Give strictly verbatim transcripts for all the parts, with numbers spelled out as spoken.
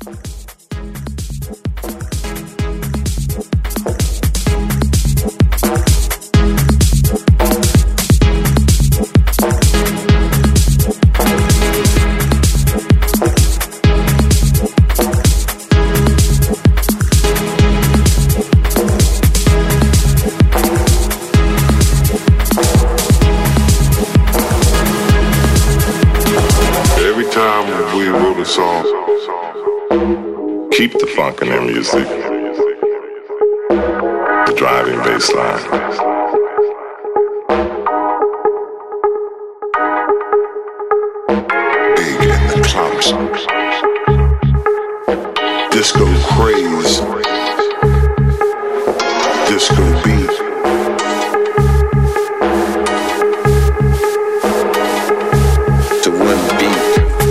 Keep the funk in their music, the driving bass line. Big in the clubs, disco craze, disco beat. To one beat.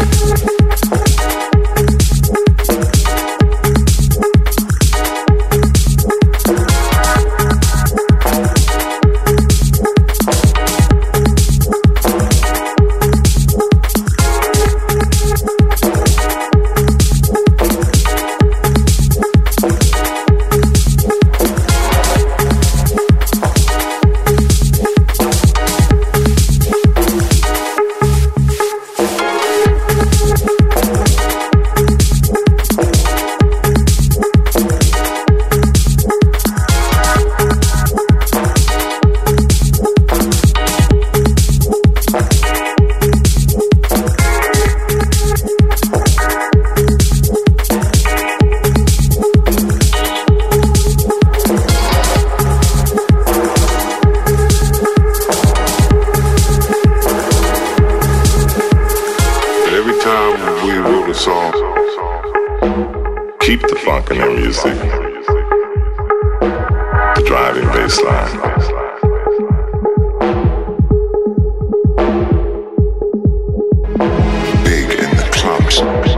Keep the funk in their music, the driving bass line. Big in the clubs,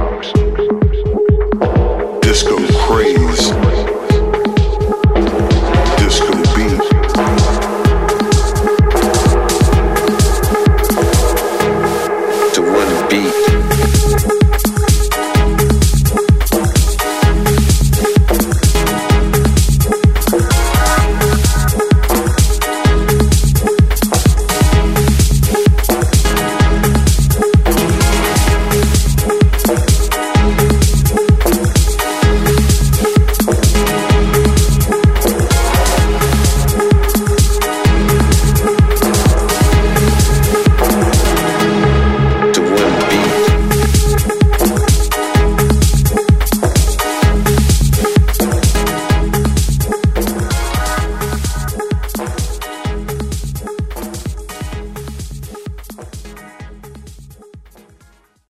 disco craze, disco beat. To one beat.